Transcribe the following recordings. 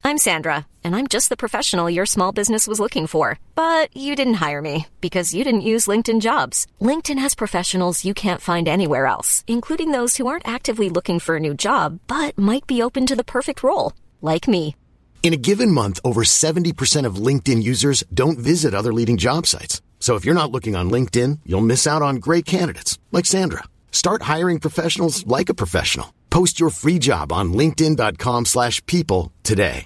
I'm Sandra, and I'm just the professional your small business was looking for. But you didn't hire me because you didn't use LinkedIn Jobs. LinkedIn has professionals you can't find anywhere else, including those who aren't actively looking for a new job, but might be open to the perfect role, like me. In a given month, over 70% of LinkedIn users don't visit other leading job sites. So if you're not looking on LinkedIn, you'll miss out on great candidates like Sandra. Start hiring professionals like a professional. Post your free job on linkedin.com/people today.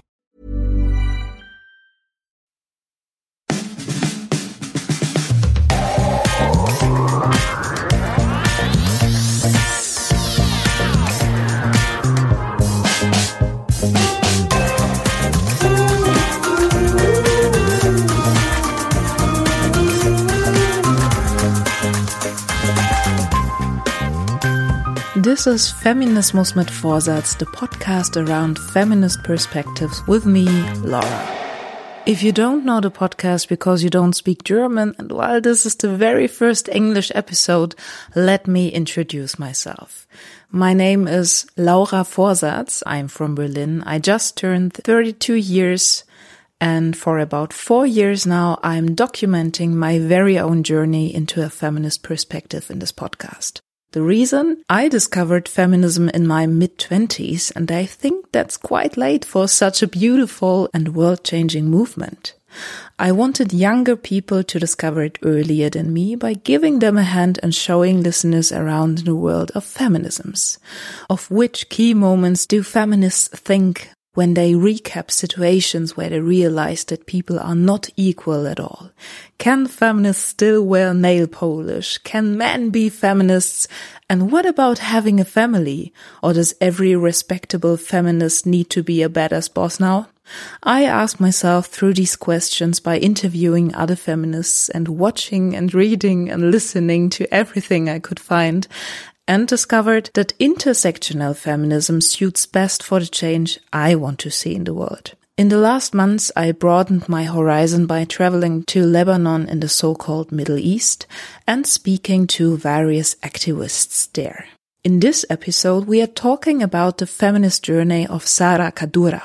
This is Feminismus mit Vorsatz, the podcast around feminist perspectives with me, Laura. If you don't know the podcast because you don't speak German, and while this is the very first English episode, let me introduce myself. My name is Laura Vorsatz. I'm from Berlin. I just turned 32 years, and for about 4 years now, I'm documenting my very own journey into a feminist perspective in this podcast. The reason? I discovered feminism in my mid-20s, and I think that's quite late for such a beautiful and world-changing movement. I wanted younger people to discover it earlier than me by giving them a hand and showing listeners around the world of feminisms. Of which key moments do feminists think when they recap situations where they realize that people are not equal at all? Can feminists still wear nail polish? Can men be feminists? And what about having a family? Or does every respectable feminist need to be a badass boss now? I asked myself through these questions by interviewing other feminists and watching and reading and listening to everything I could find, and discovered that intersectional feminism suits best for the change I want to see in the world. In the last months, I broadened my horizon by traveling to Lebanon in the so-called Middle East and speaking to various activists there. In this episode, we are talking about the feminist journey of Sara Kaddoura.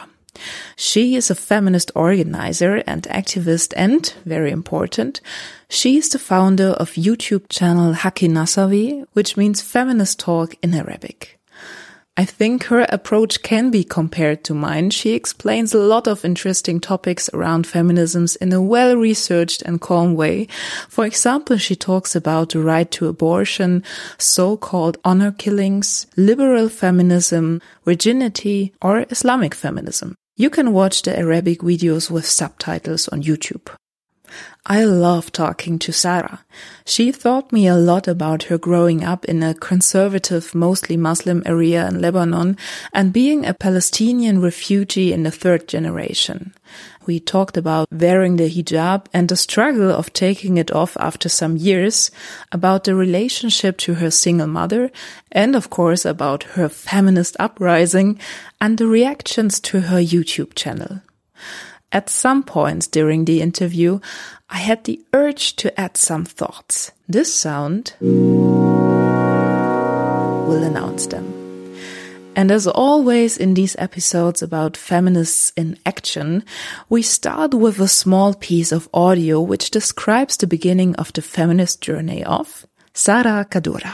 She is a feminist organizer and activist and, very important, she is the founder of YouTube channel Haki Nasawi, which means feminist talk in Arabic. I think her approach can be compared to mine. She explains a lot of interesting topics around feminisms in a well-researched and calm way. For example, she talks about the right to abortion, so-called honor killings, liberal feminism, virginity, or Islamic feminism. You can watch the Arabic videos with subtitles on YouTube. I love talking to Sara. She taught me a lot about her growing up in a conservative, mostly Muslim area in Lebanon and being a Palestinian refugee in the third generation. We talked about wearing the hijab and the struggle of taking it off after some years, about the relationship to her single mother, and of course about her feminist uprising and the reactions to her YouTube channel. At some points during the interview, I had the urge to add some thoughts. This sound will announce them. And as always in these episodes about feminists in action, we start with a small piece of audio which describes the beginning of the feminist journey of Sara Kaddoura.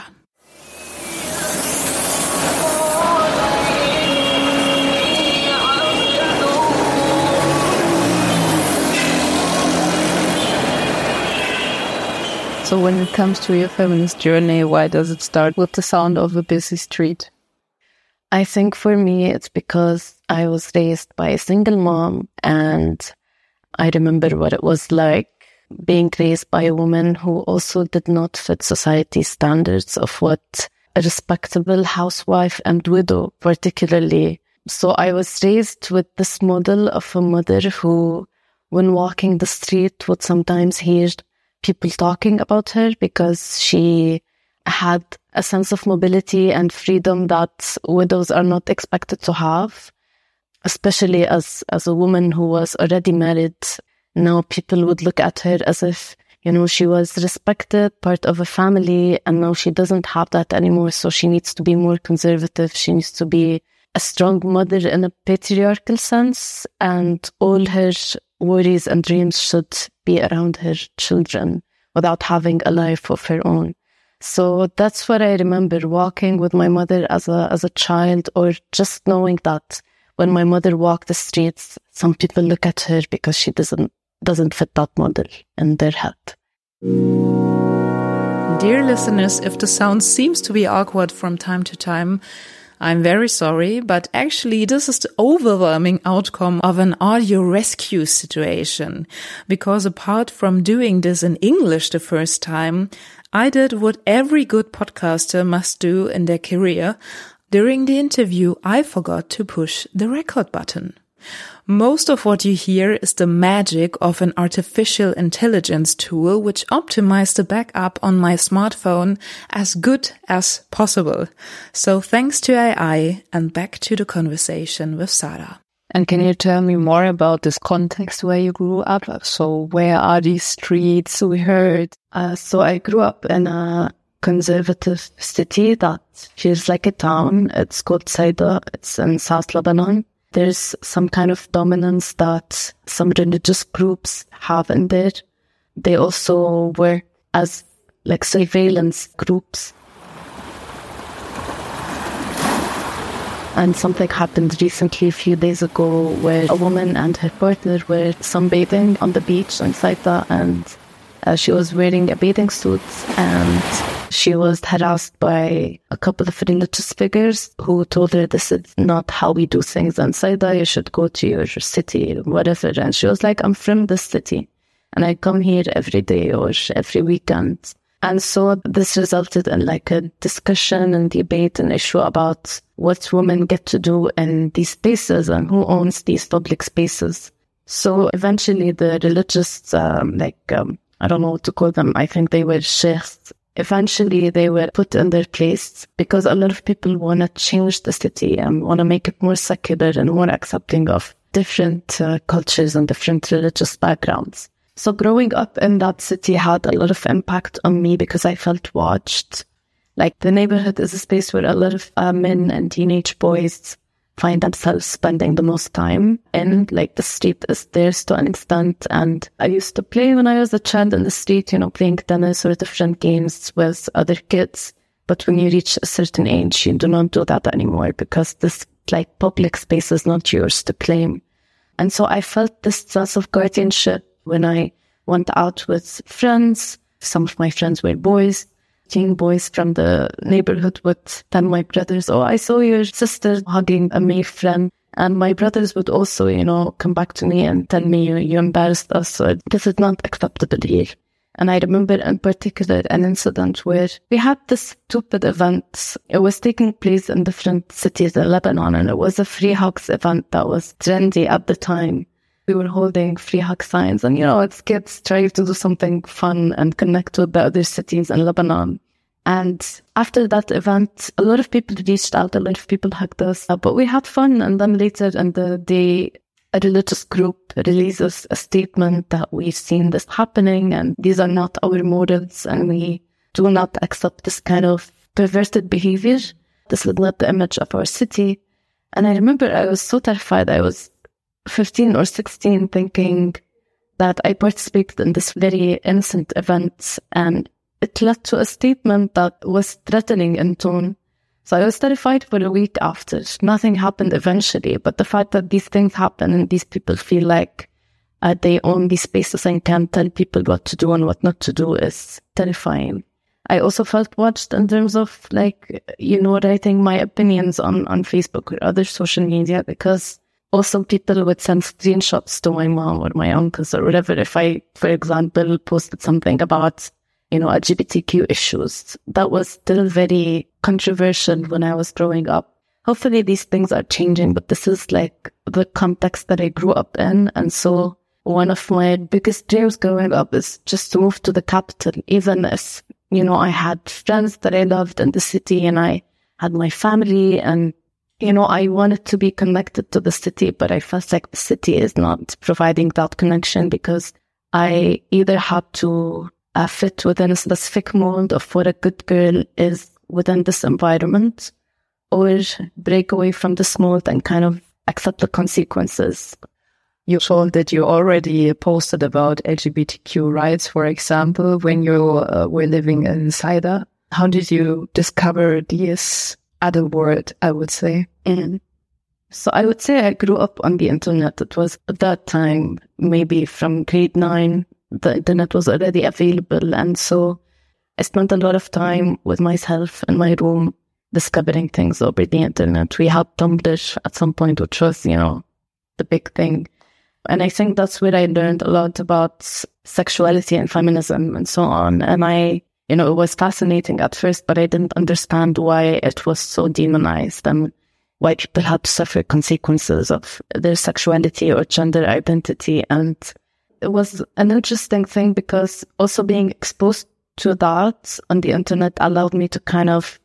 So when it comes to your feminist journey, why does it start with the sound of a busy street? I think for me, it's because I was raised by a single mom, and I remember what it was like being raised by a woman who also did not fit society's standards of what a respectable housewife and widow particularly. So I was raised with this model of a mother who, when walking the street, would sometimes hear people talking about her because she had a sense of mobility and freedom that widows are not expected to have, especially as a woman who was already married. Now people would look at her as if, she was respected, part of a family, and now she doesn't have that anymore. So she needs to be more conservative. She needs to be a strong mother in a patriarchal sense, and all her worries and dreams should be around her children without having a life of her own. So that's what I remember, walking with my mother as a child, or just knowing that when my mother walked the streets, some people look at her because she doesn't fit that model in their head. Dear listeners, if the sound seems to be awkward from time to time, I'm very sorry, but actually this is the overwhelming outcome of an audio rescue situation. Because apart from doing this in English the first time, I did what every good podcaster must do in their career. During the interview, I forgot to push the record button. Most of what you hear is the magic of an artificial intelligence tool which optimized the backup on my smartphone as good as possible. So thanks to AI, and back to the conversation with Sarah. And can you tell me more about this context where you grew up? So where are these streets we heard? So I grew up in a conservative city that feels like a town. It's called Saida. It's in South Lebanon. There's some kind of dominance that some religious groups have in there. They also were as like surveillance groups. And something happened recently, a few days ago, where a woman and her partner were sunbathing on the beach in Saida, and she was wearing a bathing suit, and she was harassed by a couple of religious figures who told her, this is not how we do things in Saida, you should go to your city, whatever. And she was like, I'm from this city, and I come here every day or every weekend. And so this resulted in like a discussion and debate and issue about what women get to do in these spaces and who owns these public spaces. So eventually the religious, I don't know what to call them, I think they were sheikhs. Eventually they were put in their place because a lot of people want to change the city and want to make it more secular and more accepting of different cultures and different religious backgrounds. So growing up in that city had a lot of impact on me because I felt watched. Like the neighborhood is a space where a lot of men and teenage boys find themselves spending the most time in. Like the street is theirs to an extent. And I used to play when I was a child in the street, playing tennis or different games with other kids. But when you reach a certain age, you do not do that anymore because this like public space is not yours to claim. And so I felt this sense of guardianship when I went out with friends. Some of my friends were boys. Teen boys from the neighborhood would tell my brothers, oh, I saw your sister hugging a male friend. And my brothers would also, come back to me and tell me, you embarrassed us. So this is not acceptable here. And I remember in particular an incident where we had this stupid event. It was taking place in different cities in Lebanon, and it was a free hugs event that was trendy at the time. We were holding free hug signs, and it's kids trying to do something fun and connect with the other cities in Lebanon. And after that event, a lot of people reached out, a lot of people hugged us, but we had fun. And then later in the day, a religious group releases a statement that we've seen this happening and these are not our morals and we do not accept this kind of perverted behavior. This is not the image of our city. And I remember I was so terrified. I was 15 or 16 thinking that I participated in this very innocent event, and it led to a statement that was threatening in tone. So I was terrified for a week after. Nothing happened eventually, but the fact that these things happen and these people feel like they own these spaces and can tell people what to do and what not to do is terrifying. I also felt watched in terms of writing my opinions on Facebook or other social media, because also people would send screenshots to my mom or my uncles or whatever if I, for example, posted something about, LGBTQ issues. That was still very controversial when I was growing up. Hopefully these things are changing, but this is like the context that I grew up in. And so one of my biggest dreams growing up is just to move to the capital, even if, I had friends that I loved in the city and I had my family and I wanted to be connected to the city, but I felt like the city is not providing that connection because I either had to fit within a specific mold of what a good girl is within this environment, or break away from this mold and kind of accept the consequences. You told that you already posted about LGBTQ rights, for example, when you were living in Saida. How did you discover this other world, I would say? Mm. So I would say I grew up on the internet. It was at that time, maybe from grade 9, the internet was already available. And so I spent a lot of time with myself in my room discovering things over the internet. We had Tumblr at some point, which was, the big thing. And I think that's where I learned a lot about sexuality and feminism and so on. And it was fascinating at first, but I didn't understand why it was so demonized and why people had to suffer consequences of their sexuality or gender identity. And it was an interesting thing because also being exposed to that on the internet allowed me to kind of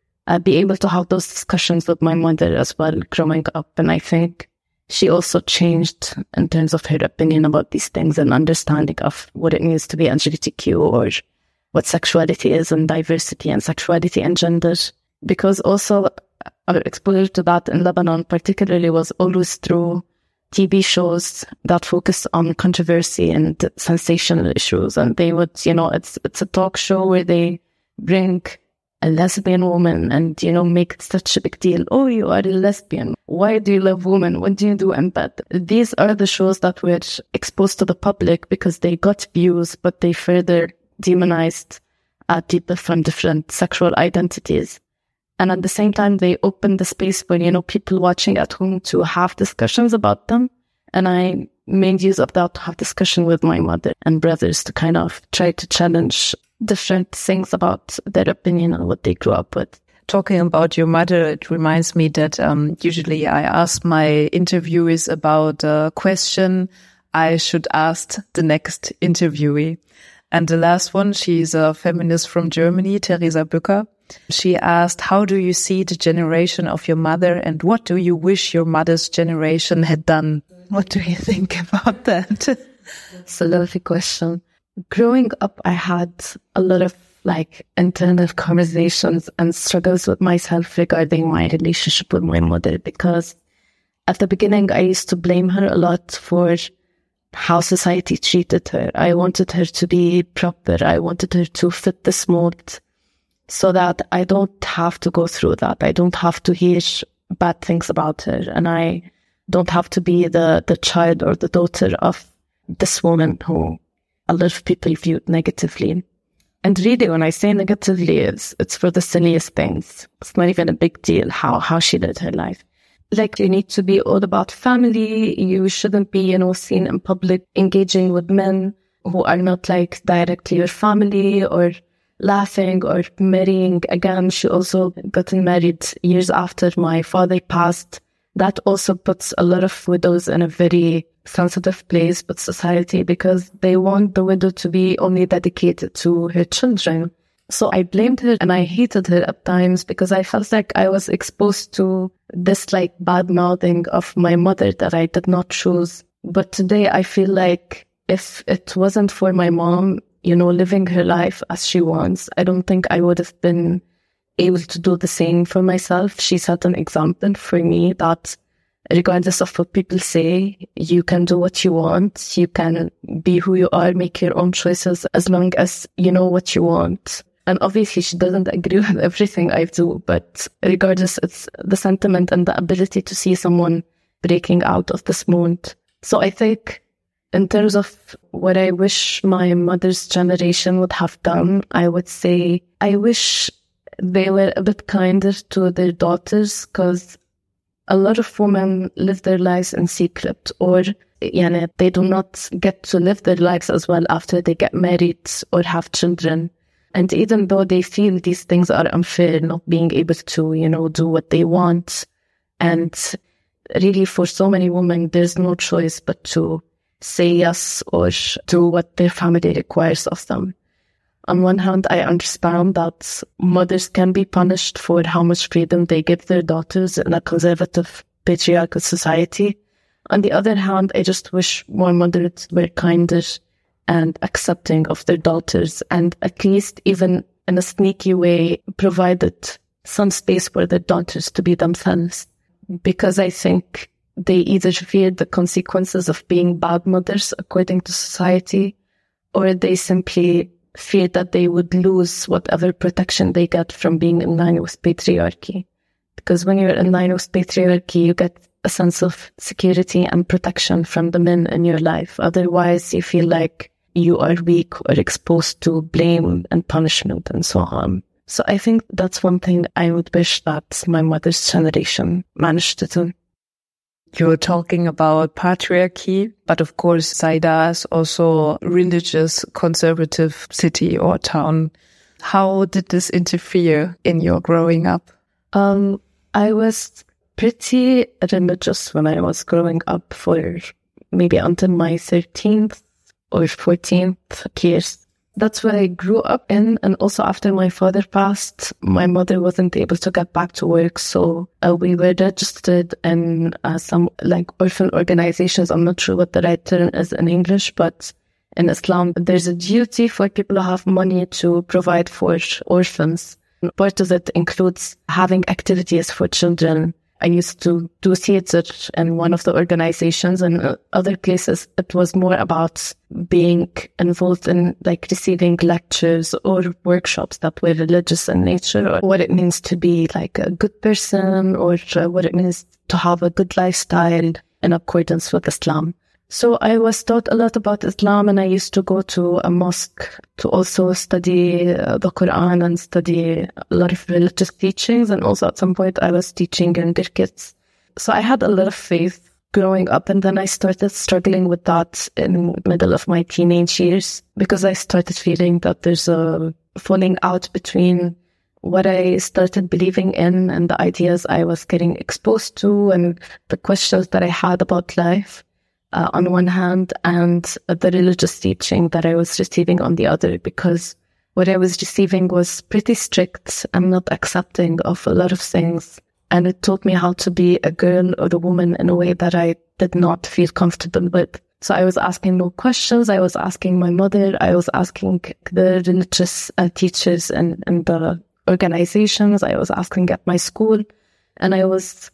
be able to have those discussions with my mother as well growing up. And I think she also changed in terms of her opinion about these things and understanding of what it means to be LGBTQ or what sexuality is and diversity and sexuality and gender. Because also our exposure to that in Lebanon particularly was always through TV shows that focus on controversy and sensational issues. And they would, it's a talk show where they bring a lesbian woman and, make it such a big deal. Oh, you are a lesbian. Why do you love women? What do you do in bed? These are the shows that were exposed to the public because they got views, but they further demonized people from different sexual identities. And at the same time, they opened the space for, people watching at home to have discussions about them. And I made use of that to have discussion with my mother and brothers to kind of try to challenge different things about their opinion and what they grew up with. Talking about your mother, it reminds me that usually I ask my interviewees about a question I should ask the next interviewee. And the last one, she's a feminist from Germany, Theresa Bücker. She asked, how do you see the generation of your mother and what do you wish your mother's generation had done? What do you think about that? It's a lovely question. Growing up, I had a lot of internal conversations and struggles with myself regarding my relationship with my mother, because at the beginning, I used to blame her a lot for how society treated her. I wanted her to be proper. I wanted her to fit this mold so that I don't have to go through that. I don't have to hear bad things about her. And I don't have to be the child or the daughter of this woman who a lot of people viewed negatively. And really, when I say negatively, it's for the silliest things. It's not even a big deal how she lived her life. You need to be all about family. You shouldn't be, seen in public engaging with men who are not directly your family or laughing or marrying. Again, she also gotten married years after my father passed. That also puts a lot of widows in a very sensitive place with society because they want the widow to be only dedicated to her children. So I blamed her and I hated her at times because I felt like I was exposed to this bad mouthing of my mother that I did not choose. But today I feel like if it wasn't for my mom, living her life as she wants, I don't think I would have been able to do the same for myself. She set an example for me that regardless of what people say, you can do what you want. You can be who you are, make your own choices as long as you know what you want. And obviously she doesn't agree with everything I do, but regardless, it's the sentiment and the ability to see someone breaking out of this mold. So I think in terms of what I wish my mother's generation would have done, I would say I wish they were a bit kinder to their daughters, because a lot of women live their lives in secret, or they do not get to live their lives as well after they get married or have children. And even though they feel these things are unfair, not being able to, do what they want. And really for so many women, there's no choice but to say yes or do what their family requires of them. On one hand, I understand that mothers can be punished for how much freedom they give their daughters in a conservative, patriarchal society. On the other hand, I just wish more mothers were kinder and accepting of their daughters, and at least even in a sneaky way provided some space for their daughters to be themselves, because I think they either feared the consequences of being bad mothers according to society, or they simply feared that they would lose whatever protection they get from being in line with patriarchy. Because when you're in line with patriarchy, you get a sense of security and protection from the men in your life. Otherwise, you feel like you are weak or exposed to blame and punishment and so on. So I think that's one thing I would wish that my mother's generation managed to do. You're talking about patriarchy, but of course, Saida is also a religious, conservative city or town. How did this interfere in your growing up? I was pretty religious when I was growing up for maybe until my 13th or 14th years. That's what I grew up in. And also after my father passed, my mother wasn't able to get back to work. So we were registered in some like orphan organizations. I'm not sure what the right term is in English, but in Islam, there's a duty for people who have money to provide for orphans. Part of it includes having activities for children. I used to do theater in one of the organizations, and other places it was more about being involved in like receiving lectures or workshops that were religious in nature, or what it means to be like a good person, or what it means to have a good lifestyle in accordance with Islam. So I was taught a lot about Islam, and I used to go to a mosque to also study the Quran and study a lot of religious teachings. And also at some point I was teaching younger kids. So I had a lot of faith growing up, and then I started struggling with that in the middle of my teenage years, because I started feeling that there's a falling out between what I started believing in and the ideas I was getting exposed to and the questions that I had about life. On one hand, and the religious teaching that I was receiving on the other, because what I was receiving was pretty strict and not accepting of a lot of things. And it taught me how to be a girl or a woman in a way that I did not feel comfortable with. So I was asking no questions. I was asking my mother. I was asking the religious teachers and the organizations. I was asking at my school. And I was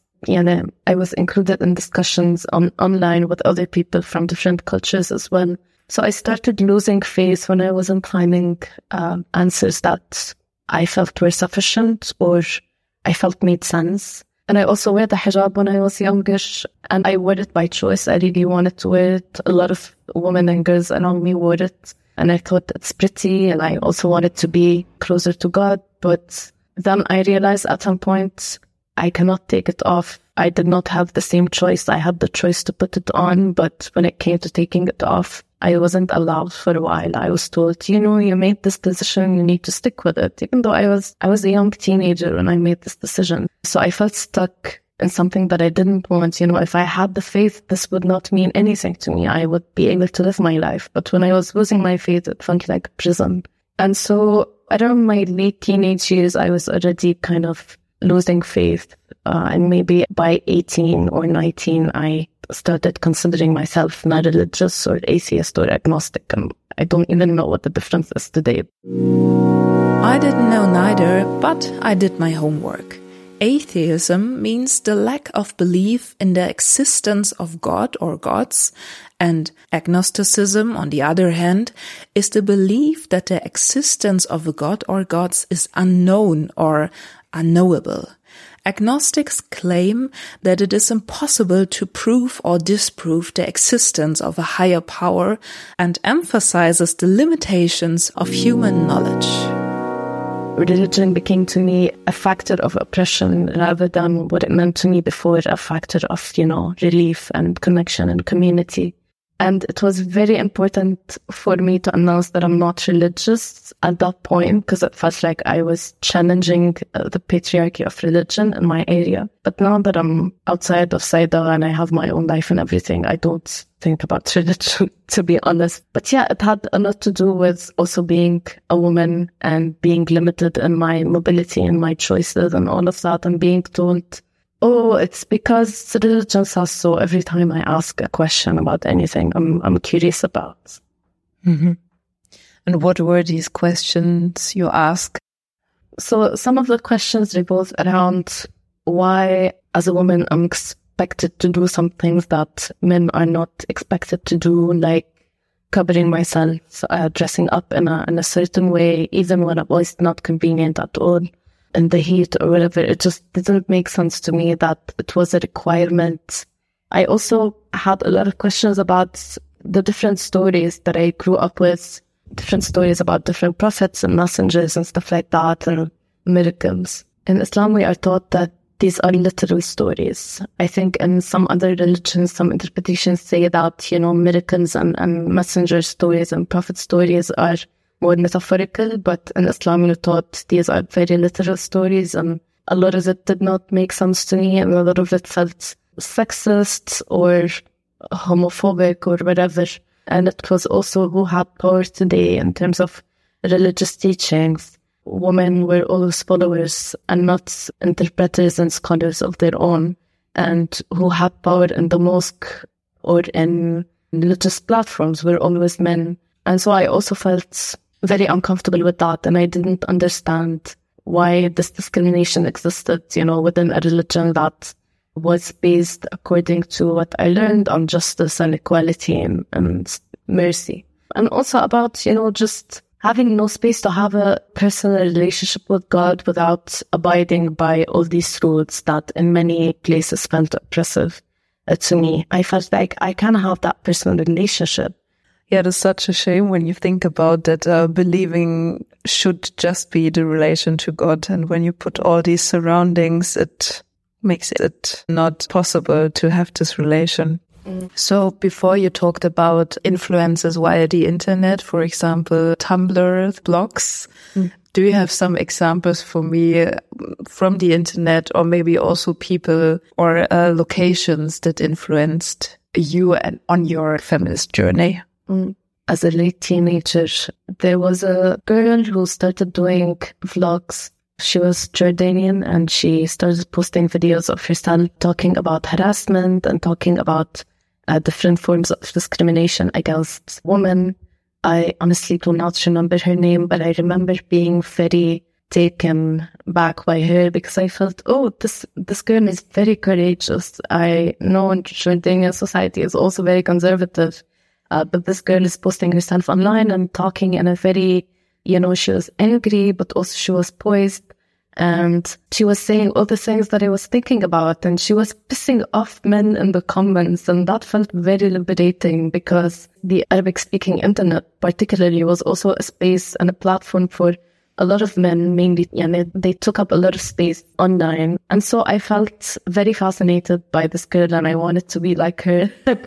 included in discussions online with other people from different cultures as well. So I started losing faith when I wasn't finding answers that I felt were sufficient or I felt made sense. And I also wear the hijab when I was younger, and I wore it by choice. I really wanted to wear it. A lot of women and girls around me wore it, and I thought it's pretty, and I also wanted to be closer to God. But then I realized at some point I cannot take it off. I did not have the same choice. I had the choice to put it on, but when it came to taking it off, I wasn't allowed for a while. I was told, you made this decision, you need to stick with it, even though I was a young teenager when I made this decision. So I felt stuck in something that I didn't want. If I had the faith, this would not mean anything to me. I would be able to live my life. But when I was losing my faith, it felt like a prison. And so around my late teenage years, I was already kind of losing faith. And maybe by 18 or 19, I started considering myself not religious or atheist or agnostic. And I don't even know what the difference is today. I didn't know neither, but I did my homework. Atheism means the lack of belief in the existence of God or gods, and agnosticism, on the other hand, is the belief that the existence of a god or gods is unknown or unknowable. Agnostics claim that it is impossible to prove or disprove the existence of a higher power and emphasizes the limitations of human knowledge. Religion became to me a factor of oppression rather than what it meant to me before, a factor of, relief and connection and community. And it was very important for me to announce that I'm not religious at that point, because it felt like I was challenging the patriarchy of religion in my area. But now that I'm outside of Saida and I have my own life and everything, I don't think about religion, to be honest. But yeah, it had a lot to do with also being a woman and being limited in my mobility and my choices and all of that, and being told, oh, it's because religion says so every time I ask a question about anything I'm curious about. Mm-hmm. And what were these questions you asked? So some of the questions revolve around why, as a woman, I'm expected to do some things that men are not expected to do, like covering myself, dressing up in a certain way, even when it was not convenient at all, in the heat or whatever. It just didn't make sense to me that it was a requirement. I also had a lot of questions about the different stories that I grew up with, different stories about different prophets and messengers and stuff like that, and miracles. In Islam, we are taught that these are literal stories. I think in some other religions, some interpretations say that, miracles and messenger stories and prophet stories are more metaphorical, but in Islam, we're taught these are very literal stories, and a lot of it did not make sense to me, and a lot of it felt sexist or homophobic or whatever. And it was also who had power today in terms of religious teachings. Women were always followers and not interpreters and scholars of their own, and who had power in the mosque or in religious platforms were always men. And so I also felt very uncomfortable with that, and I didn't understand why this discrimination existed, within a religion that was based, according to what I learned, on justice and equality and mercy. And also about, just having no space to have a personal relationship with God without abiding by all these rules that in many places felt oppressive to me. I felt like I can't have that personal relationship. Yeah, it is such a shame when you think about that. Believing should just be the relation to God. And when you put all these surroundings, it makes it not possible to have this relation. So before you talked about influences via the internet, for example, Tumblr, blogs, do you have some examples for me from the internet, or maybe also people or locations that influenced you and on your feminist journey? As a late teenager, there was a girl who started doing vlogs. She was Jordanian, and she started posting videos of herself talking about harassment and talking about different forms of discrimination against women. I honestly do not remember her name, but I remember being very taken back by her because I felt, this girl is very courageous. I know Jordanian society is also very conservative, but this girl is posting herself online and talking in a very, she was angry, but also she was poised. And she was saying all the things that I was thinking about, and she was pissing off men in the comments, and that felt very liberating because the Arabic-speaking internet particularly was also a space and a platform for a lot of men, mainly, they took up a lot of space online. And so I felt very fascinated by this girl, and I wanted to be like her.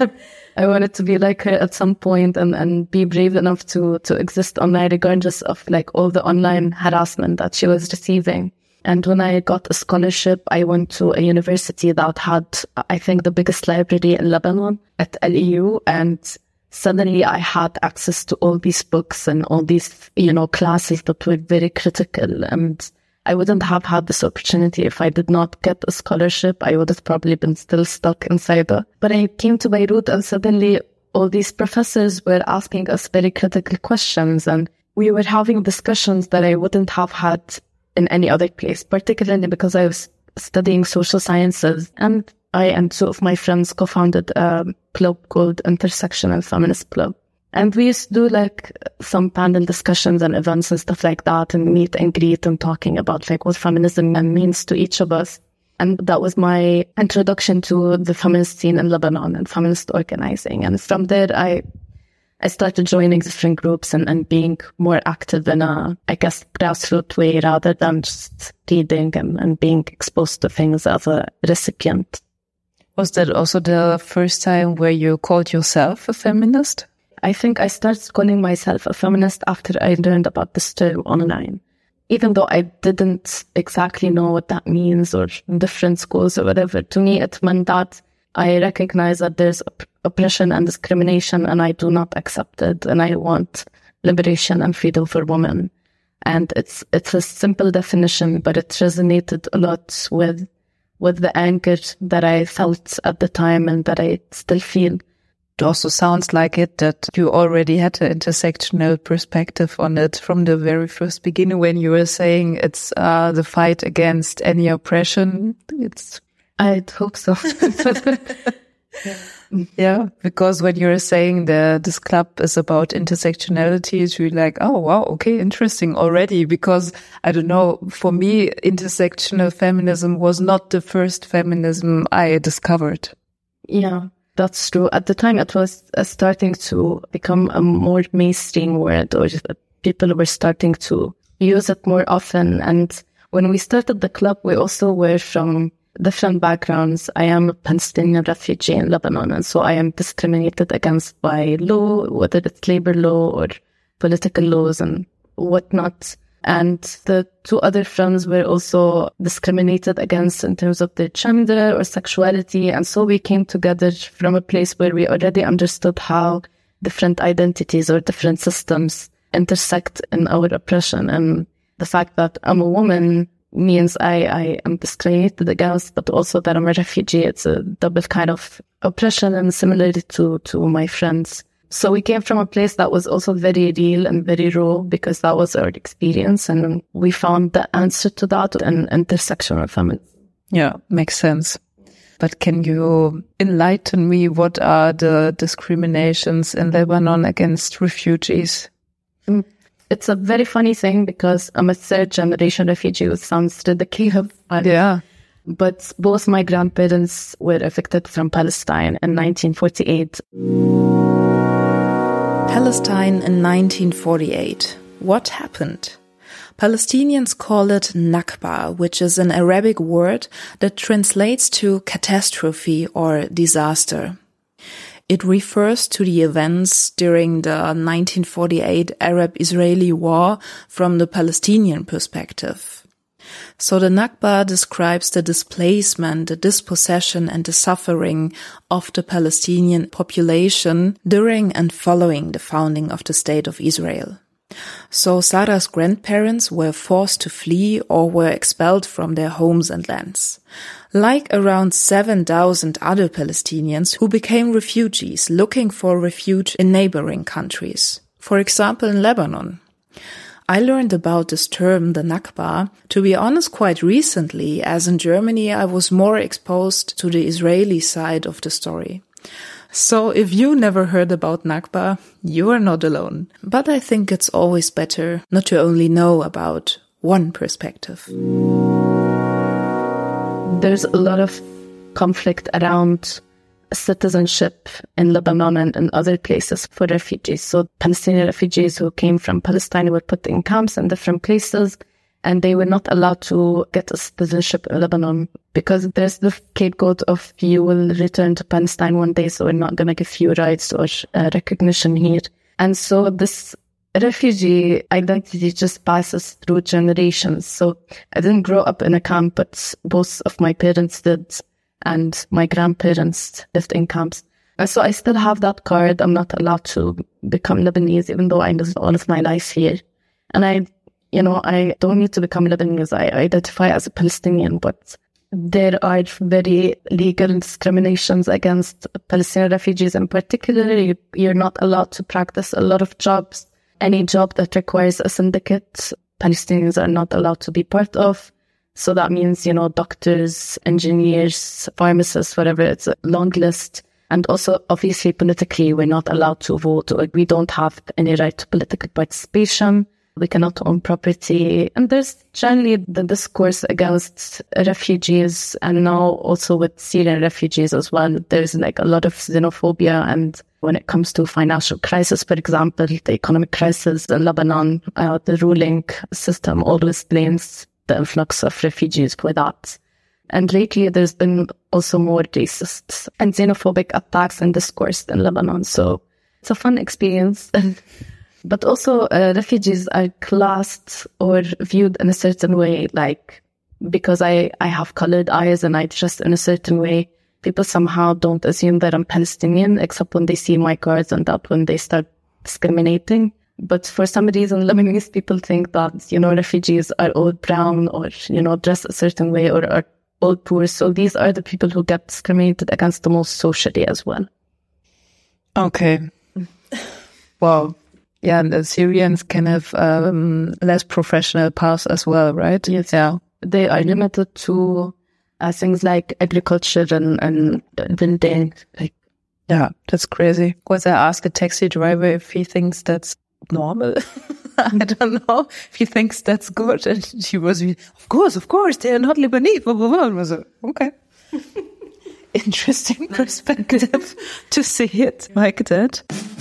I wanted to be like her at some point and be brave enough to exist online, regardless of like all the online harassment that she was receiving. And when I got a scholarship, I went to a university that had, I think, the biggest library in Lebanon at LEU. And suddenly I had access to all these books and all these, classes that were very critical. And I wouldn't have had this opportunity if I did not get a scholarship. I would have probably been still stuck inside it. But I came to Beirut, and suddenly all these professors were asking us very critical questions, and we were having discussions that I wouldn't have had in any other place, particularly because I was studying social sciences, and I and two of my friends co-founded a club called Intersectional Feminist Club. And we used to do like some panel discussions and events and stuff like that, and meet and greet and talking about like what feminism means to each of us. And that was my introduction to the feminist scene in Lebanon and feminist organizing. And from there, I started joining different groups and being more active in a, grassroots way rather than just reading and being exposed to things as a recipient. Was that also the first time where you called yourself a feminist? I think I started calling myself a feminist after I learned about this term online. Even though I didn't exactly know what that means or different schools or whatever, to me it meant that I recognize that there's oppression and discrimination, and I do not accept it, and I want liberation and freedom for women. And it's a simple definition, but it resonated a lot with the anger that I felt at the time and that I still feel. It also sounds like it that you already had an intersectional perspective on it from the very first beginning when you were saying it's the fight against any oppression. I'd hope so. Yeah, because when you're saying this club is about intersectionality, it's really like, oh, wow, okay, interesting already. Because, I don't know, for me, intersectional feminism was not the first feminism I discovered. Yeah, that's true. At the time, it was starting to become a more mainstream word, or people were starting to use it more often. And when we started the club, we also were from different backgrounds. I am a Palestinian refugee in Lebanon, and so I am discriminated against by law, whether it's labor law or political laws and whatnot. And the two other friends were also discriminated against in terms of their gender or sexuality. And so we came together from a place where we already understood how different identities or different systems intersect in our oppression. And the fact that I'm a woman means I am discriminated against, but also that I'm a refugee. It's a double kind of oppression, and similarly to my friends. So we came from a place that was also very real and very raw, because that was our experience, and we found the answer to that in intersectional feminism. Yeah, makes sense. But can you enlighten me, what are the discriminations in Lebanon against refugees? It's a very funny thing, because I'm a third-generation refugee, which sounds ridiculous. Yeah. But both my grandparents were evicted from Palestine in 1948. Palestine in 1948. What happened? Palestinians call it Nakba, which is an Arabic word that translates to catastrophe or disaster. It refers to the events during the 1948 Arab-Israeli war from the Palestinian perspective. So the Nakba describes the displacement, the dispossession and the suffering of the Palestinian population during and following the founding of the State of Israel. So Sarah's grandparents were forced to flee or were expelled from their homes and lands, like around 7,000 other Palestinians who became refugees looking for refuge in neighboring countries, for example in Lebanon. I learned about this term, the Nakba, to be honest, quite recently, as in Germany I was more exposed to the Israeli side of the story. So if you never heard about Nakba, you are not alone. But I think it's always better not to only know about one perspective. There's a lot of conflict around citizenship in Lebanon and in other places for refugees. So Palestinian refugees who came from Palestine were put in camps in different places, and they were not allowed to get a citizenship in Lebanon because there's the scapegoat of you will return to Palestine one day, so we're not going to give you rights or recognition here. And so this refugee identity just passes through generations. So I didn't grow up in a camp, but both of my parents did, and my grandparents lived in camps. And so I still have that card. I'm not allowed to become Lebanese, even though I lived all of my life here. And I don't need to become Lebanese. I identify as a Palestinian, but there are very legal discriminations against Palestinian refugees in particular. You're not allowed to practice a lot of jobs. Any job that requires a syndicate, Palestinians are not allowed to be part of. So that means, doctors, engineers, pharmacists, whatever. It's a long list. And also, obviously, politically, we're not allowed to vote, or we don't have any right to political participation. We cannot own property. And there's generally the discourse against refugees, and now also with Syrian refugees as well. There's a lot of xenophobia. And when it comes to financial crisis, for example, the economic crisis in Lebanon, the ruling system always blames the influx of refugees for that. And lately, there's been also more racist and xenophobic attacks and discourse in Lebanon. So it's a fun experience. But also, refugees are classed or viewed in a certain way, like because I have colored eyes and I dress in a certain way. People somehow don't assume that I'm Palestinian, except when they see my cards, and that when they start discriminating. But for some reason, Lebanese people think that, refugees are all brown or, dress a certain way or are all poor. So these are the people who get discriminated against the most socially as well. Okay. Wow. Yeah, and the Syrians can have less professional paths as well, right? Yes. Yeah. They are limited to things like agriculture and building. Yeah, that's crazy. Because I asked a taxi driver if he thinks that's normal. I don't know if he thinks that's good. And he was, of course, they are not Lebanese. Blah, blah, blah. And I was like, okay. Interesting perspective to see it like that.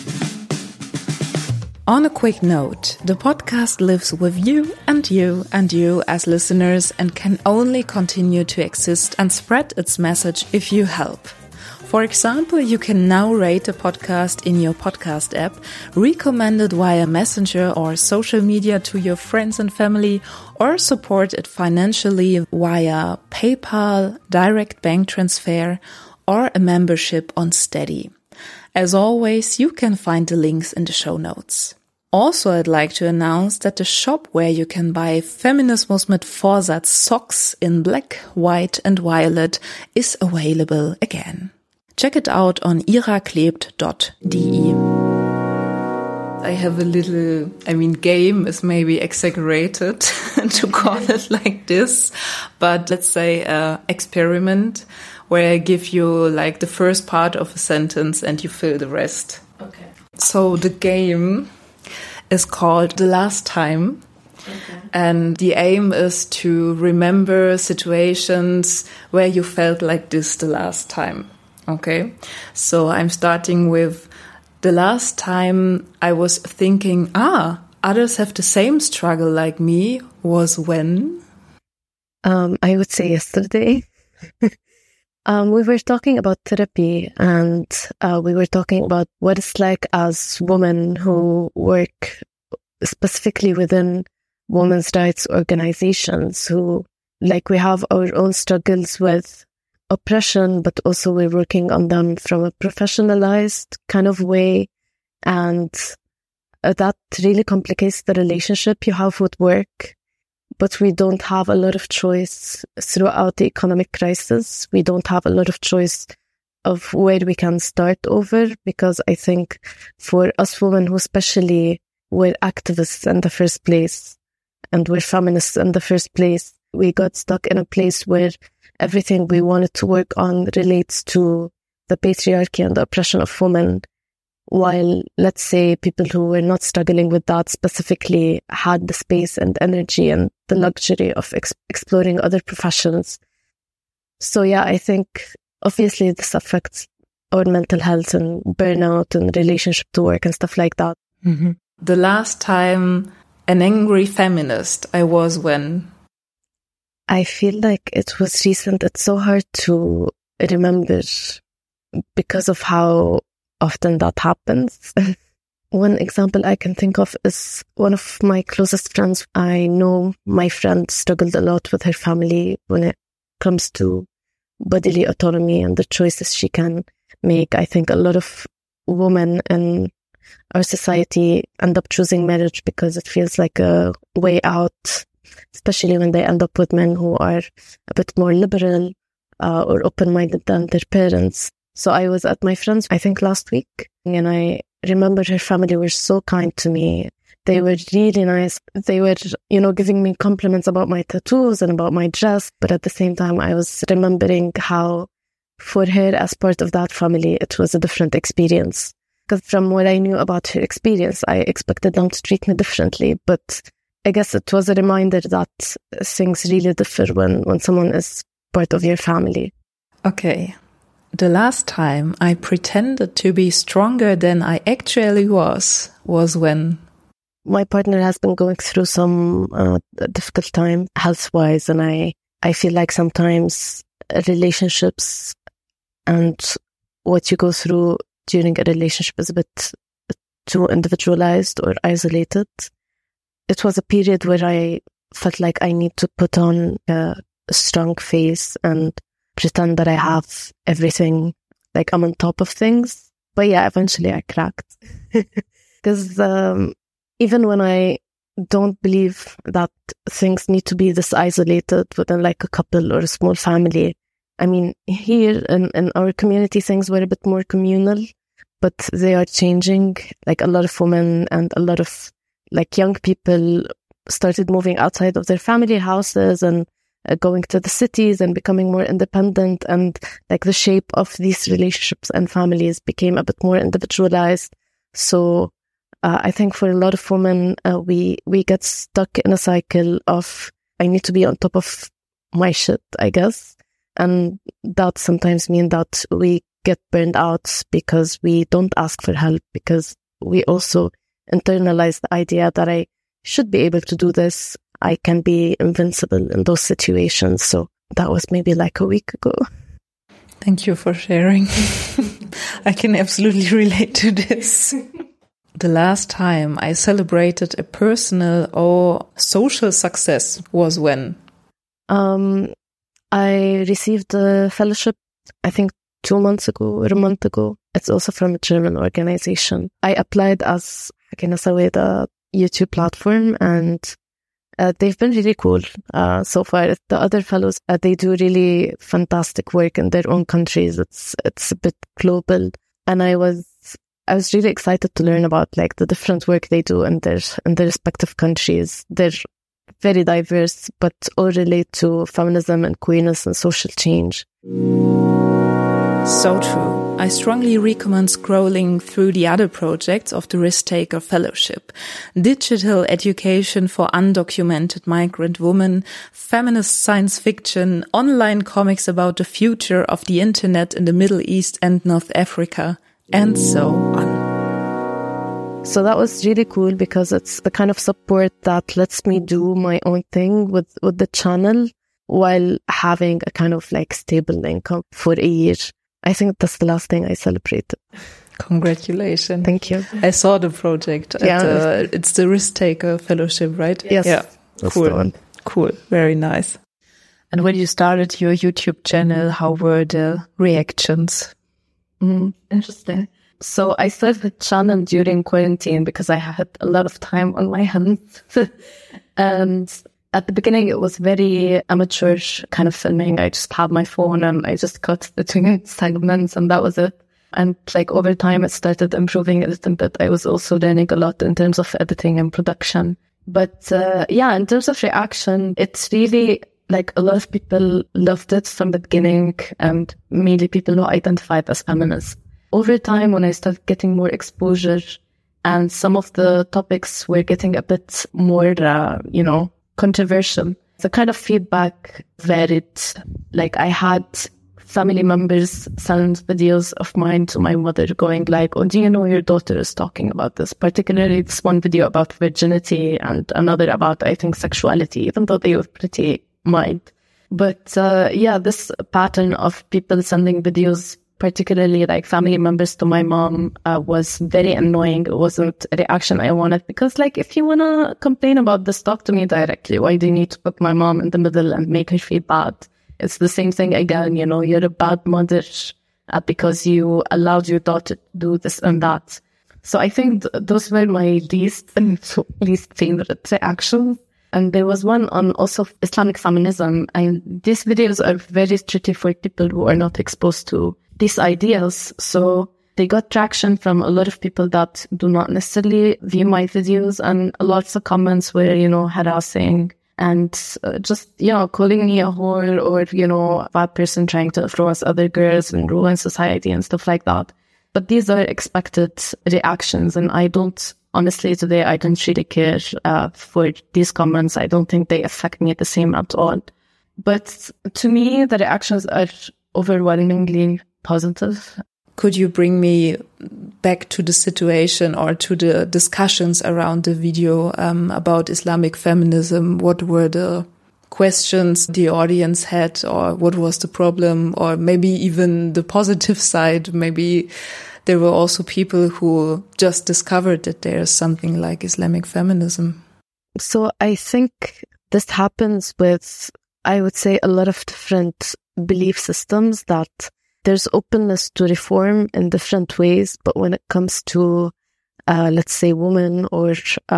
On a quick note, the podcast lives with you and you and you as listeners and can only continue to exist and spread its message if you help. For example, you can now rate a podcast in your podcast app, recommend it via Messenger or social media to your friends and family, or support it financially via PayPal, direct bank transfer, or a membership on Steady. As always, you can find the links in the show notes. Also, I'd like to announce that the shop where you can buy Feminismus mit Vorsatz socks in black, white and violet is available again. Check it out on iraklebt.de. I have a little, game is maybe exaggerated to call it like this, but let's say experiment where I give you like the first part of a sentence and you fill the rest. Okay. So the game is called The Last Time. Okay. And the aim is to remember situations where you felt like this the last time. Okay, so I'm starting with the last time I was thinking, others have the same struggle like me was when? I would say yesterday. We were talking about therapy and we were talking about what it's like as women who work specifically within women's rights organizations who, like, we have our own struggles with oppression, but also we're working on them from a professionalized kind of way. And that really complicates the relationship you have with work. But we don't have a lot of choice throughout the economic crisis. We don't have a lot of choice of where we can start over, because I think for us women who especially were activists in the first place and were feminists in the first place, we got stuck in a place where everything we wanted to work on relates to the patriarchy and the oppression of women, while, let's say, people who were not struggling with that specifically had the space and energy and the luxury of exploring other professions. So yeah, I think obviously this affects our mental health and burnout and relationship to work and stuff like that. Mm-hmm. The last time an angry feminist I was when? I feel like it was recent. It's so hard to remember because of how often that happens. One example I can think of is one of my closest friends. I know my friend struggled a lot with her family when it comes to bodily autonomy and the choices she can make. I think a lot of women in our society end up choosing marriage because it feels like a way out, especially when they end up with men who are a bit more liberal or open-minded than their parents. So I was at my friend's, I think last week, and I remember her family were so kind to me. They were really nice. They were, giving me compliments about my tattoos and about my dress. But at the same time, I was remembering how for her, as part of that family, it was a different experience. Because from what I knew about her experience, I expected them to treat me differently. But I guess it was a reminder that things really differ when someone is part of your family. Okay. The last time I pretended to be stronger than I actually was when? My partner has been going through some difficult time health-wise, and I feel like sometimes relationships and what you go through during a relationship is a bit too individualized or isolated. It was a period where I felt like I need to put on a strong face and pretend that I have everything, like I'm on top of things. But yeah, eventually I cracked. Because even when I don't believe that things need to be this isolated within like a couple or a small family, I mean, here in our community, things were a bit more communal. but they are changing. Like a lot of women and a lot of like young people started moving outside of their family houses and going to the cities and becoming more independent, and like the shape of these relationships and families became a bit more individualized. So I think for a lot of women, we get stuck in a cycle of, I need to be on top of my shit, I guess. And that sometimes means that we get burned out because we don't ask for help, because we also internalize the idea that I should be able to do this. I can be invincible in those situations. So that was maybe like a week ago. Thank you for sharing. I can absolutely relate to this. The last time I celebrated a personal or social success was when? I received a fellowship, I think 2 months ago or a month ago. It's also from a German organization. I applied as the YouTube platform, and they've been really cool so far. The other fellows, they do really fantastic work in their own countries. It's a bit global, and I was really excited to learn about like the different work they do in their respective countries. They're very diverse, but all relate to feminism and queerness and social change. So true. I strongly recommend scrolling through the other projects of the Risk Taker Fellowship: digital education for undocumented migrant women, feminist science fiction, online comics about the future of the internet in the Middle East and North Africa, and so on. So that was really cool because it's the kind of support that lets me do my own thing with the channel while having a kind of like stable income for a year. I think that's the last thing I celebrated. Congratulations. Thank you. I saw the project. It's the Risk Taker Fellowship, right? Yes. Yeah. That's cool. the one. Cool. Very nice. And when you started your YouTube channel, how were the reactions? Interesting. So I started the channel during quarantine because I had a lot of time on my hands. And at the beginning, it was very amateur kind of filming. I just had my phone and I just cut the 2 segments and that was it. And like over time, it started improving a little bit. I was also learning a lot in terms of editing and production. But in terms of reaction, it's really like a lot of people loved it from the beginning, and mainly people who identified as feminists. Over time, when I started getting more exposure and some of the topics were getting a bit more, controversial, the kind of feedback varied. Like I had family members send videos of mine to my mother going like, oh, do you know your daughter is talking about this? Particularly this one video about virginity and another about, I think, sexuality, even though they were pretty mild. But this pattern of people sending videos, particularly like family members to my mom, was very annoying. It wasn't a reaction I wanted because like, if you want to complain about this, talk to me directly. Why do you need to put my mom in the middle and make her feel bad? It's the same thing again, you're a bad mother because you allowed your daughter to do this and that. So I think those were my least favorite reactions. And there was one on also Islamic feminism. And these videos are very tricky for people who are not exposed to these ideas. So they got traction from a lot of people that do not necessarily view my videos, and lots of comments were, harassing and just, calling me a whore or, a bad person trying to influence other girls and ruin society and stuff like that. But these are expected reactions, and honestly, today, I don't really care for these comments. I don't think they affect me the same at all. But to me, the reactions are overwhelmingly positive. Could you bring me back to the situation or to the discussions around the video about Islamic feminism? What were the questions the audience had, or what was the problem, or maybe even the positive side? Maybe there were also people who just discovered that there's something like Islamic feminism. So I think this happens with, I would say, a lot of different belief systems, that there's openness to reform in different ways. But when it comes to, let's say, women or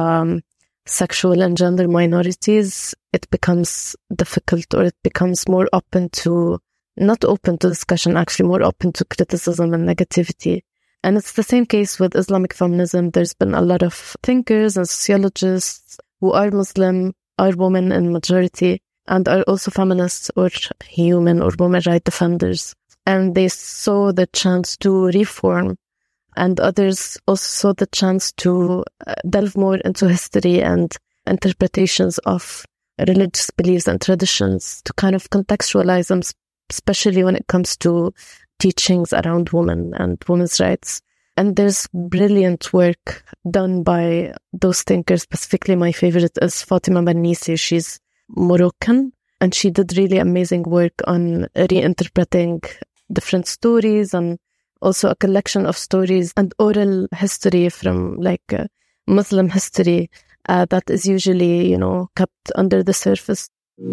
sexual and gender minorities, it becomes difficult, or it becomes more not open to discussion, actually more open to criticism and negativity. And it's the same case with Islamic feminism. There's been a lot of thinkers and sociologists who are Muslim, are women in majority, and are also feminists or human or women rights defenders. And they saw the chance to reform, and others also saw the chance to delve more into history and interpretations of religious beliefs and traditions to kind of contextualize them, especially when it comes to teachings around women and women's rights. And there's brilliant work done by those thinkers. Specifically, my favorite is Fatima Mernissi. She's Moroccan, and she did really amazing work on reinterpreting different stories and also a collection of stories and oral history from Muslim history that is usually, kept under the surface.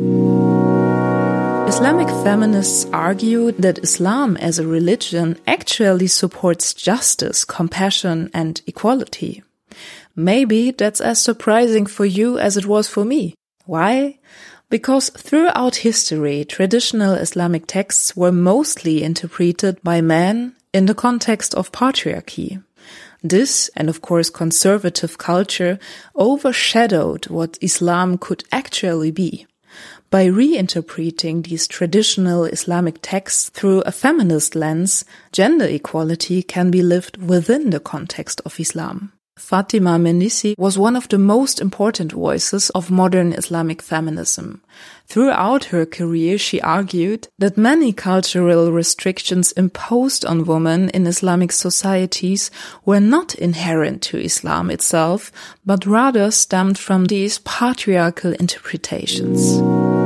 Islamic feminists argue that Islam as a religion actually supports justice, compassion, and equality. Maybe that's as surprising for you as it was for me. Why? Because throughout history, traditional Islamic texts were mostly interpreted by men in the context of patriarchy. This, and of course conservative culture, overshadowed what Islam could actually be. By reinterpreting these traditional Islamic texts through a feminist lens, gender equality can be lived within the context of Islam. Fatima Mernissi was one of the most important voices of modern Islamic feminism. Throughout her career, she argued that many cultural restrictions imposed on women in Islamic societies were not inherent to Islam itself, but rather stemmed from these patriarchal interpretations.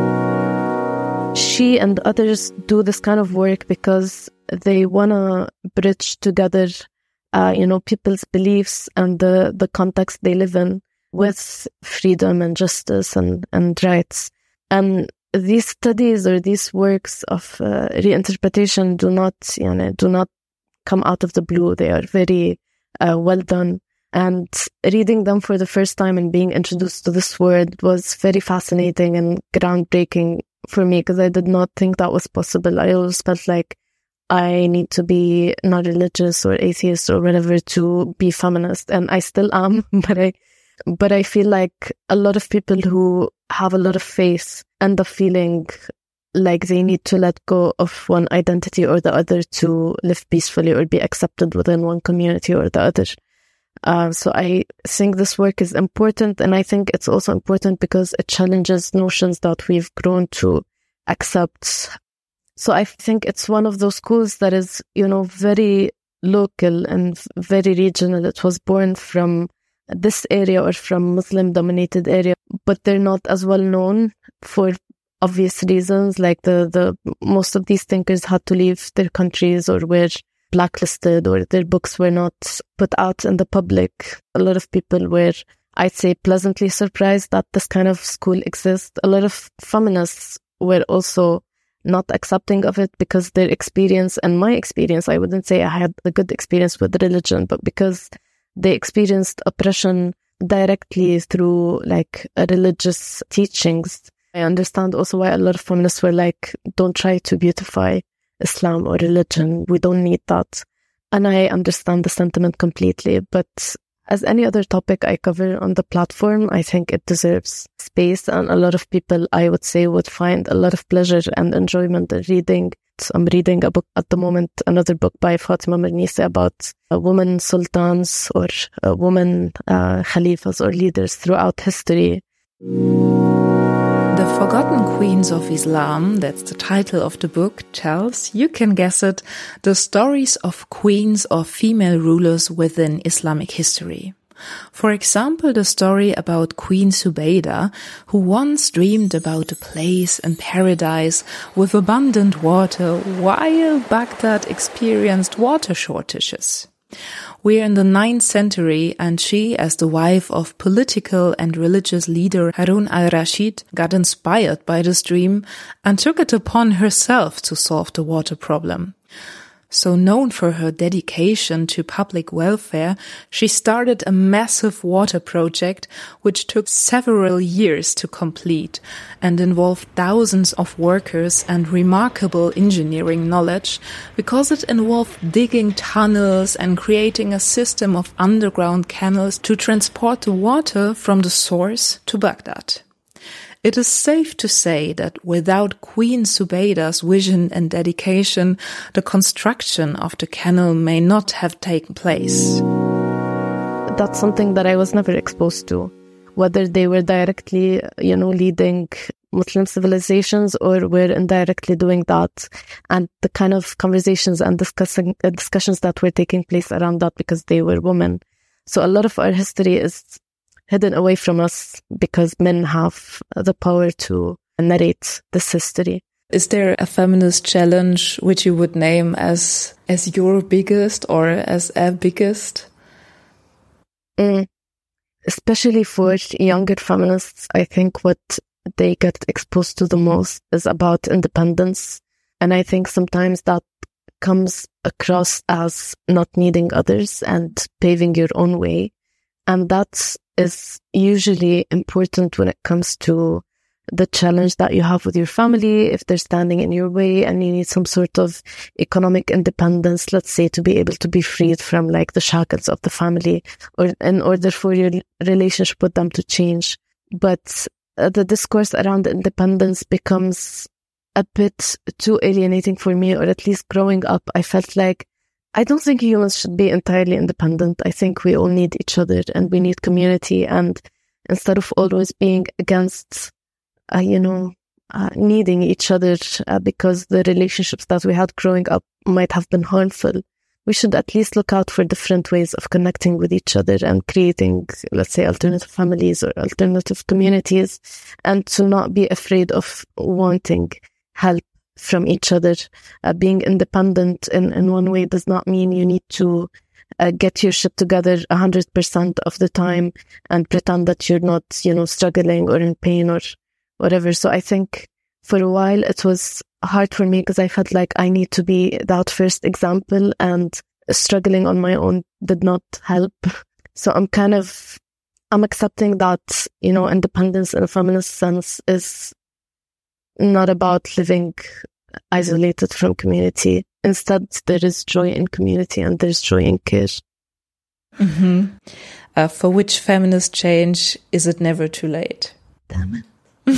She and others do this kind of work because they want to bridge together people's beliefs and the context they live in with freedom and justice and rights. And these studies or these works of reinterpretation do not come out of the blue. They are very well done. And reading them for the first time and being introduced to this word was very fascinating and groundbreaking for me, because I did not think that was possible. I always felt like I need to be not religious or atheist or whatever to be feminist, and I still am, but I feel like a lot of people who have a lot of faith end up feeling like they need to let go of one identity or the other to live peacefully or be accepted within one community or the other. So I think this work is important, and I think it's also important because it challenges notions that we've grown to accept. So I think it's one of those schools that is, very local and very regional. It was born from this area or from Muslim-dominated area, but they're not as well known for obvious reasons. Like the most of these thinkers had to leave their countries or were blacklisted, or their books were not put out in the public. A lot of people were, I'd say, pleasantly surprised that this kind of school exists. A lot of feminists were also not accepting of it because their experience, and my experience, I wouldn't say I had a good experience with religion, but because they experienced oppression directly through religious teachings. I understand also why a lot of feminists were like, don't try to beautify Islam or religion. We don't need that. And I understand the sentiment completely. But as any other topic I cover on the platform, I think it deserves space. And a lot of people, I would say, would find a lot of pleasure and enjoyment in reading. So I'm reading a book at the moment, another book by Fatima Mernissi about women sultans or women khalifas or leaders throughout history. The Forgotten Queens of Islam, that's the title of the book, tells, you can guess it, the stories of queens or female rulers within Islamic history. For example, the story about Queen Zubaydah, who once dreamed about a place in paradise with abundant water while Baghdad experienced water shortages. We're in the 9th century, and she, as the wife of political and religious leader Harun al-Rashid, got inspired by this dream and took it upon herself to solve the water problem. So known for her dedication to public welfare, she started a massive water project which took several years to complete and involved thousands of workers and remarkable engineering knowledge because it involved digging tunnels and creating a system of underground canals to transport the water from the source to Baghdad. It is safe to say that without Queen Zubeida's vision and dedication, the construction of the canal may not have taken place. That's something that I was never exposed to, whether they were directly, leading Muslim civilizations or were indirectly doing that, and the kind of conversations and discussions that were taking place around that because they were women. So a lot of our history is hidden away from us because men have the power to narrate this history. Is there a feminist challenge which you would name as your biggest or as a biggest? Especially for younger feminists, I think what they get exposed to the most is about independence. And I think sometimes that comes across as not needing others and paving your own way. And that is usually important when it comes to the challenge that you have with your family, if they're standing in your way and you need some sort of economic independence, let's say, to be able to be freed from like the shackles of the family, or in order for your relationship with them to change. But the discourse around independence becomes a bit too alienating for me, or at least growing up, I felt like I don't think humans should be entirely independent. I think we all need each other and we need community. And instead of always being against, needing each other because the relationships that we had growing up might have been harmful, we should at least look out for different ways of connecting with each other and creating, let's say, alternative families or alternative communities, and to not be afraid of wanting help from each other. Being independent in one way does not mean you need to get your shit together 100% of the time and pretend that you're not, struggling or in pain or whatever. So I think for a while it was hard for me because I felt like I need to be that first example, and struggling on my own did not help. So I'm accepting that, independence in a feminist sense is not about living isolated from community. Instead, there is joy in community and there's joy in care. Mm-hmm. For which feminist change is it never too late? Damn it.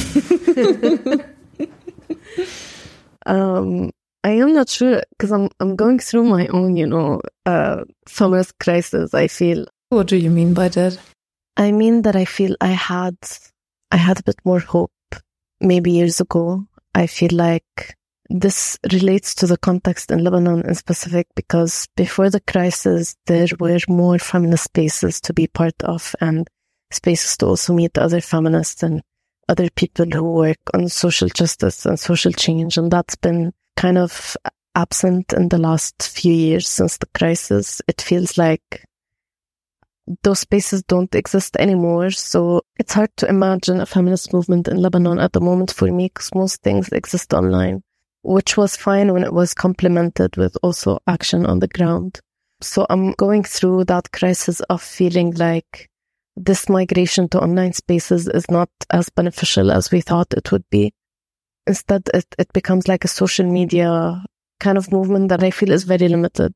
I am not sure because I'm going through my own, feminist crisis, I feel. What do you mean by that? I mean that I feel I had a bit more hope maybe years ago. I feel like this relates to the context in Lebanon in specific because before the crisis, there were more feminist spaces to be part of and spaces to also meet other feminists and other people who work on social justice and social change. And that's been kind of absent in the last few years since the crisis. It feels like those spaces don't exist anymore. So it's hard to imagine a feminist movement in Lebanon at the moment for me because most things exist online, which was fine when it was complemented with also action on the ground. So I'm going through that crisis of feeling like this migration to online spaces is not as beneficial as we thought it would be. Instead, it becomes like a social media kind of movement that I feel is very limited.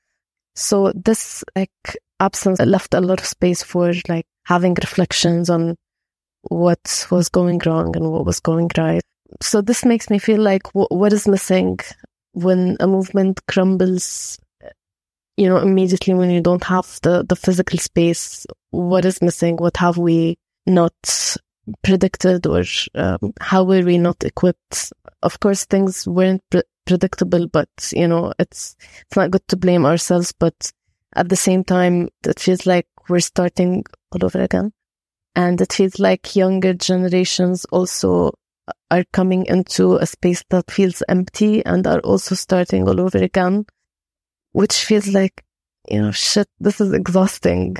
So this absence left a lot of space for having reflections on what was going wrong and what was going right. So this makes me feel like what is missing when a movement crumbles, immediately when you don't have the physical space. What is missing? What have we not predicted, or how were we not equipped? Of course, things weren't predictable, but, it's not good to blame ourselves. But at the same time, it feels like we're starting all over again. And it feels like younger generations also are coming into a space that feels empty and are also starting all over again, which feels like, shit, this is exhausting.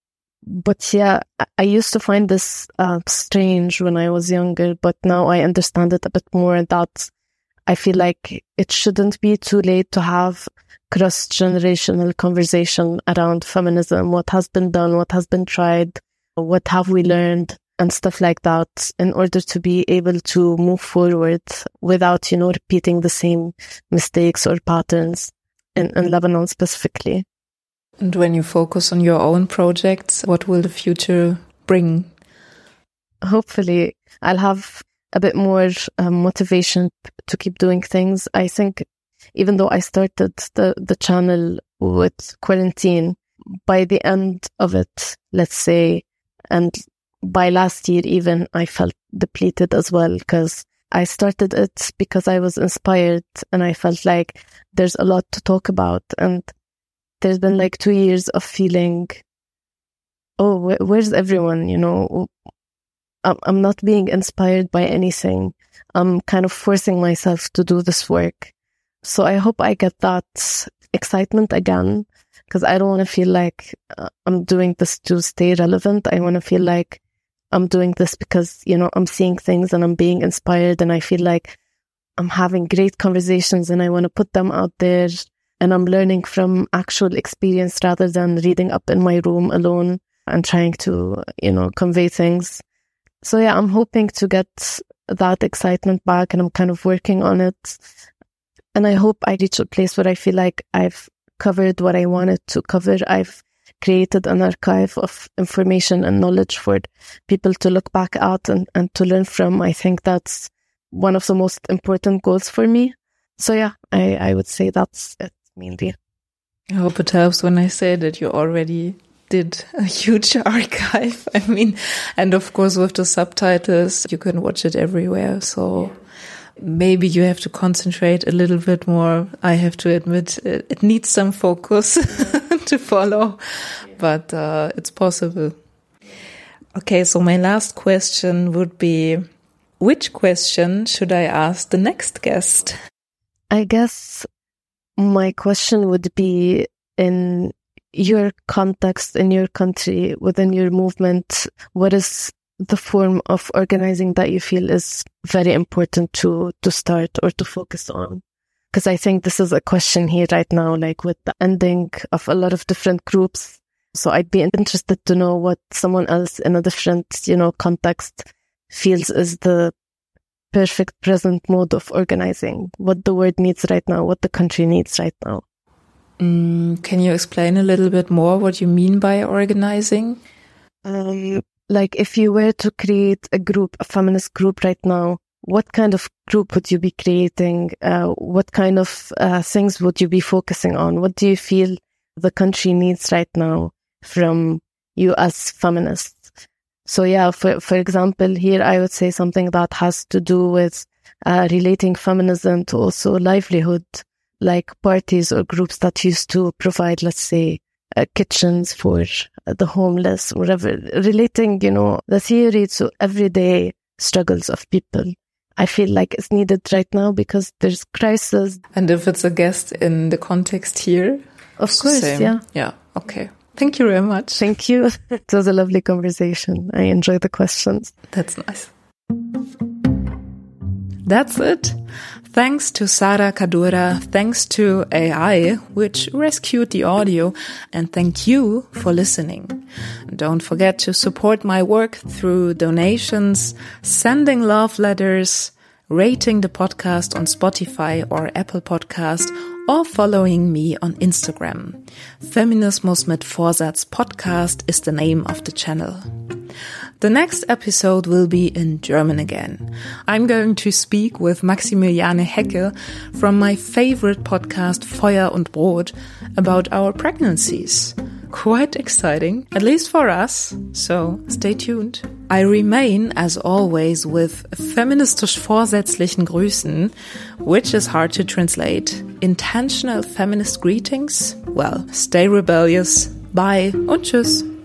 But yeah, I used to find this strange when I was younger, but now I understand it a bit more, that I feel like it shouldn't be too late to have cross-generational conversation around feminism, what has been done, what has been tried, what have we learned, and stuff like that, in order to be able to move forward without, repeating the same mistakes or patterns in Lebanon specifically. And when you focus on your own projects, what will the future bring? Hopefully, I'll have a bit more motivation to keep doing things. I think even though I started the channel with quarantine, by the end of it, let's say, and by last year even, I felt depleted as well, because I started it because I was inspired and I felt like there's a lot to talk about. And there's been like 2 years of feeling, oh, where's everyone? I'm not being inspired by anything. I'm kind of forcing myself to do this work. So I hope I get that excitement again, because I don't want to feel like I'm doing this to stay relevant. I want to feel like I'm doing this because, I'm seeing things and I'm being inspired, and I feel like I'm having great conversations and I want to put them out there, and I'm learning from actual experience rather than reading up in my room alone and trying to, convey things. So yeah, I'm hoping to get that excitement back, and I'm kind of working on it. And I hope I reach a place where I feel like I've covered what I wanted to cover. I've created an archive of information and knowledge for people to look back at and to learn from. I think that's one of the most important goals for me. So yeah, I would say that's it mainly. I hope it helps when I say that you already did a huge archive. I mean, and of course with the subtitles, you can watch it everywhere. So maybe you have to concentrate a little bit more. I have to admit, it needs some focus to follow, but it's possible. Okay, so my last question would be, which question should I ask the next guest? I guess my question would be, in your context, in your country, within your movement, what is the form of organizing that you feel is very important to start or to focus on? Because I think this is a question here right now, like with the ending of a lot of different groups. So I'd be interested to know what someone else in a different, context feels is the perfect present mode of organizing, what the world needs right now, what the country needs right now. Can you explain a little bit more what you mean by organizing? Like if you were to create a group, a feminist group right now, what kind of group would you be creating? What kind of things would you be focusing on? What do you feel the country needs right now from you as feminists? So yeah, for example, here I would say something that has to do with relating feminism to also livelihood, like parties or groups that used to provide, let's say, kitchens for the homeless, whatever, relating, the theory to everyday struggles of people. I feel like it's needed right now because there's crisis. And if it's a guest in the context here? Of course, yeah. Yeah, okay. Thank you very much. Thank you. It was a lovely conversation. I enjoyed the questions. That's nice. That's it. Thanks to Sara Kadura, thanks to AI, which rescued the audio, and thank you for listening. Don't forget to support my work through donations, sending love letters, rating the podcast on Spotify or Apple Podcast, or following me on Instagram. Feminismus mit Vorsatz Podcast is the name of the channel. The next episode will be in German again. I'm going to speak with Maximiliane Hecke from my favorite podcast Feuer und Brot about our pregnancies. Quite exciting, at least for us, so stay tuned. I remain, as always, with feministisch vorsätzlichen Grüßen, which is hard to translate. Intentional feminist greetings? Well, stay rebellious. Bye und tschüss.